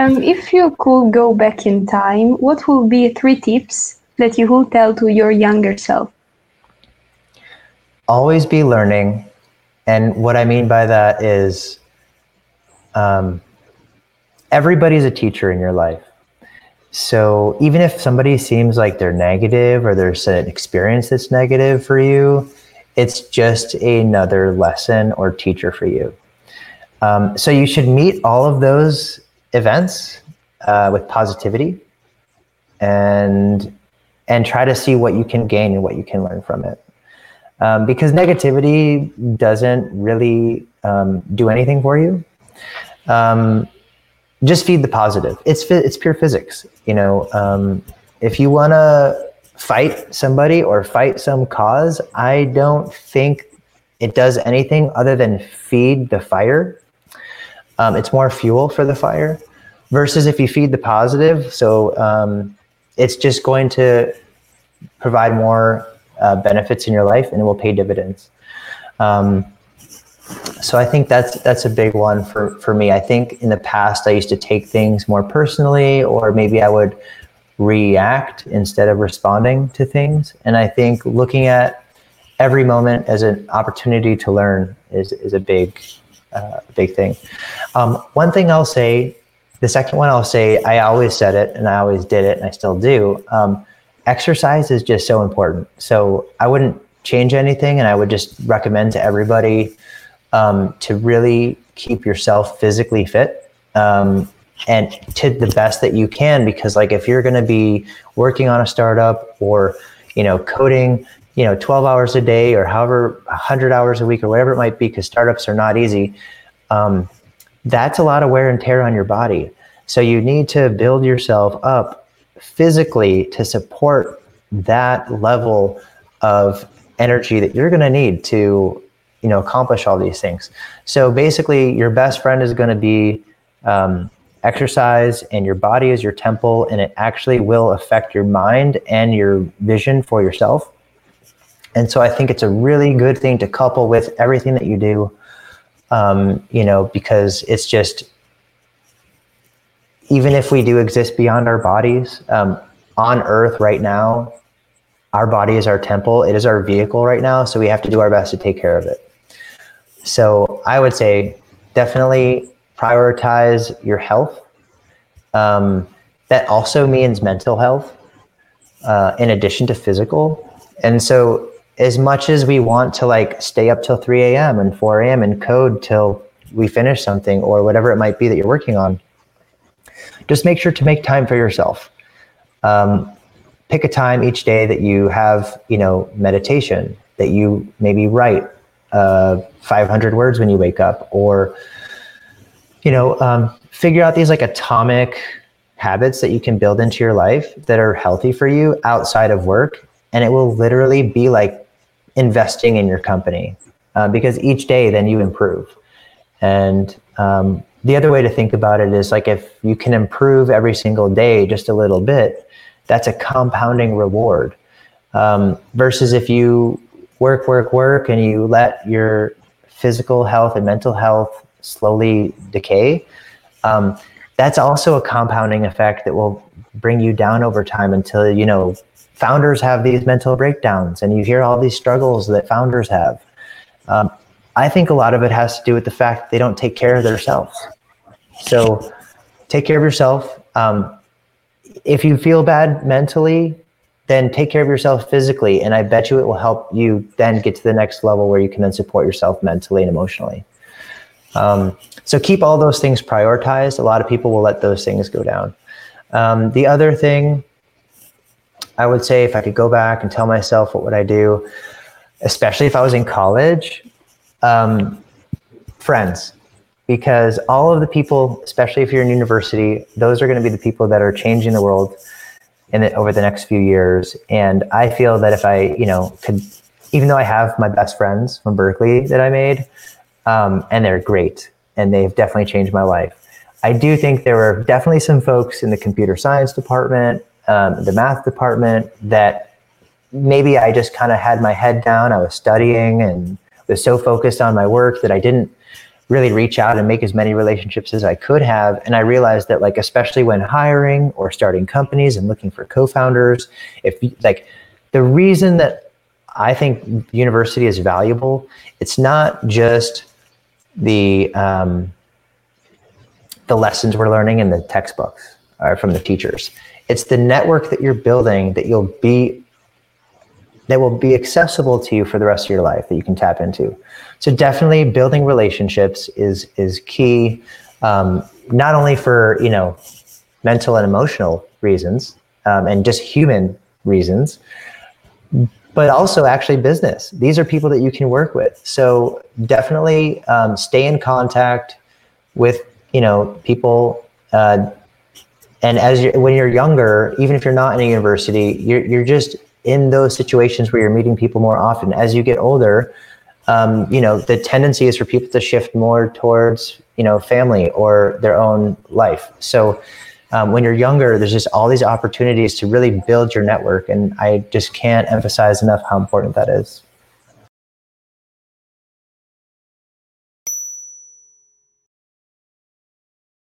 If you could go back in time, what would be 3 tips that you would tell to your younger self? Always be learning. And what I mean by that is everybody's a teacher in your life. So even if somebody seems like they're negative or there's an experience that's negative for you, it's just another lesson or teacher for you. So you should meet all of those events with positivity and try to see what you can gain and what you can learn from it. Because negativity doesn't really do anything for you. Just feed the positive. It's pure physics. If you want to fight somebody or fight some cause, I don't think it does anything other than feed the fire. It's more fuel for the fire versus if you feed the positive. So it's just going to provide more benefits in your life, and it will pay dividends. So I think that's a big one for me. I think in the past I used to take things more personally, or maybe I would react instead of responding to things. And I think looking at every moment as an opportunity to learn is a big thing. One thing I'll say, the second one I'll say, I always said it and I always did it and I still do. Exercise is just so important. So I wouldn't change anything, and I would just recommend to everybody to really keep yourself physically fit and to the best that you can, because like if you're going to be working on a startup or coding 12 hours a day or however 100 hours a week or whatever it might be, because startups are not easy, that's a lot of wear and tear on your body. So you need to build yourself up physically to support that level of energy that you're going to need to accomplish all these things. So basically your best friend is going to be exercise, and your body is your temple, and it actually will affect your mind and your vision for yourself. And so I think it's a really good thing to couple with everything that you do, because it's just, even if we do exist beyond our bodies, on earth right now, our body is our temple. It is our vehicle right now. So we have to do our best to take care of it. So I would say definitely prioritize your health. That also means mental health, in addition to physical. And so as much as we want to stay up till 3 a.m. and 4 a.m. and code till we finish something or whatever it might be that you're working on, just make sure to make time for yourself. Pick a time each day that you have, meditation, that you maybe write 500 words when you wake up, or, figure out these atomic habits that you can build into your life that are healthy for you outside of work. And it will literally be like investing in your company, because each day then you improve. And the other way to think about it is if you can improve every single day just a little bit, that's a compounding reward. Versus if you work and you let your physical health and mental health slowly decay, that's also a compounding effect that will bring you down over time until, founders have these mental breakdowns and you hear all these struggles that founders have. I think a lot of it has to do with the fact that they don't take care of themselves. So take care of yourself. If you feel bad mentally, then take care of yourself physically. And I bet you it will help you then get to the next level where you can then support yourself mentally and emotionally. So keep all those things prioritized. A lot of people will let those things go down. The other thing I would say, if I could go back and tell myself what would I do, especially if I was in college, friends. Because all of the people, especially if you're in university, those are going to be the people that are changing the world over the next few years. And I feel that if I, could, even though I have my best friends from Berkeley that I made, and they're great, and they've definitely changed my life, I do think there were definitely some folks in the computer science department, the math department, that maybe I just kind of had my head down. I was studying and was so focused on my work that I didn't really reach out and make as many relationships as I could have. And I realized that, like, especially when hiring or starting companies and looking for co-founders, the reason that I think university is valuable, it's not just the lessons we're learning in the textbooks or from the teachers. It's the network that you're building that will be accessible to you for the rest of your life, that you can tap into. So definitely building relationships is key, not only for, mental and emotional reasons, and just human reasons, but also actually business. These are people that you can work with. So definitely stay in contact with, people. And when you're younger, even if you're not in a university, you're just in those situations where you're meeting people more often. As you get older, the tendency is for people to shift more towards, family or their own life. So when you're younger, there's just all these opportunities to really build your network. And I just can't emphasize enough how important that is.